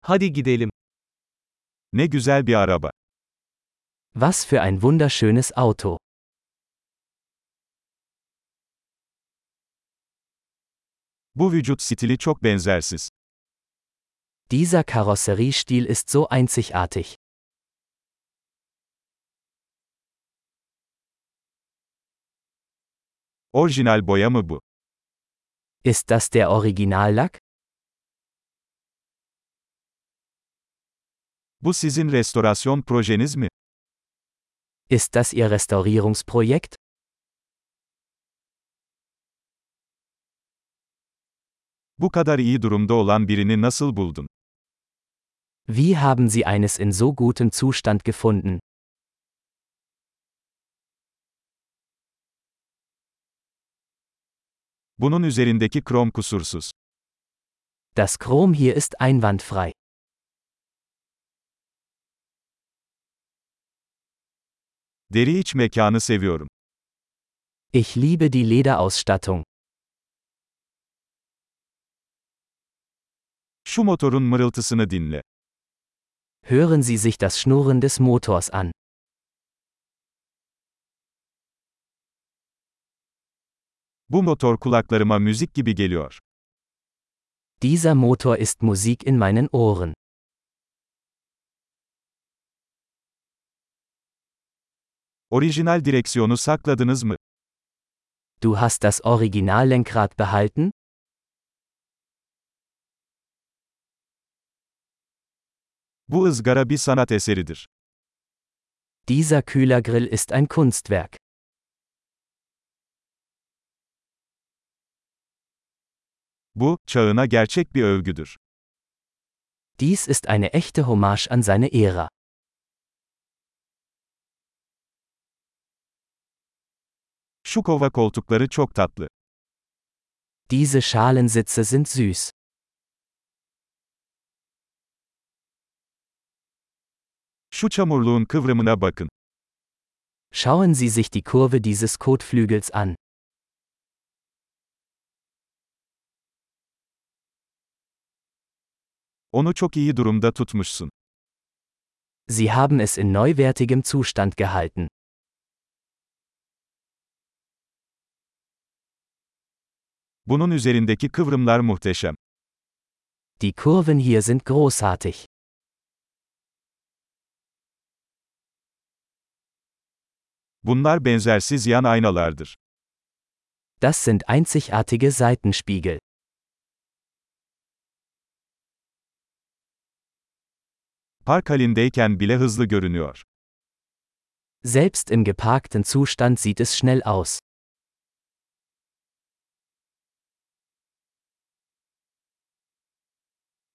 Hadi gidelim. Ne güzel bir araba. Was für ein wunderschönes Auto. Bu vücut stili çok benzersiz. Dieser Karosseriestil ist so einzigartig. Orijinal boya mı bu? Ist das der Originallack? Bu sizin restorasyon projeniz mi? Ist das Ihr Restaurierungsprojekt? Bu kadar iyi durumda olan birini nasıl buldun? Wie haben Sie eines in so gutem Zustand gefunden? Bunun üzerindeki krom kusursuz. Das Chrom hier ist einwandfrei. Deri iç mekanı seviyorum. Ich liebe die Lederausstattung. Şu motorun mırıltısını dinle. Hören Sie sich das Schnurren des Motors an. Bu motor kulaklarıma müzik gibi geliyor. Dieser Motor ist Musik in meinen Ohren. Orijinal direksiyonu sakladınız mı? Du hast das Originallenkrad behalten? Bu ızgara bir sanat eseridir. Dieser Kühlergrill ist ein Kunstwerk. Bu, çağına gerçek bir övgüdür. Dies ist eine echte Hommage an seine Ära. Şu kova koltukları çok tatlı. Diese Schalensitze sind süß. Şu çamurluğun kıvrımına bakın. Schauen Sie sich die Kurve dieses Kotflügels an. Onu çok iyi durumda tutmuşsun. Sie haben es in neuwertigem Zustand gehalten. Bunun üzerindeki kıvrımlar muhteşem. Die Kurven hier sind großartig. Bunlar benzersiz yan aynalardır. Das sind einzigartige Seitenspiegel. Park halindeyken bile hızlı görünüyor. Selbst im geparkten Zustand sieht es schnell aus.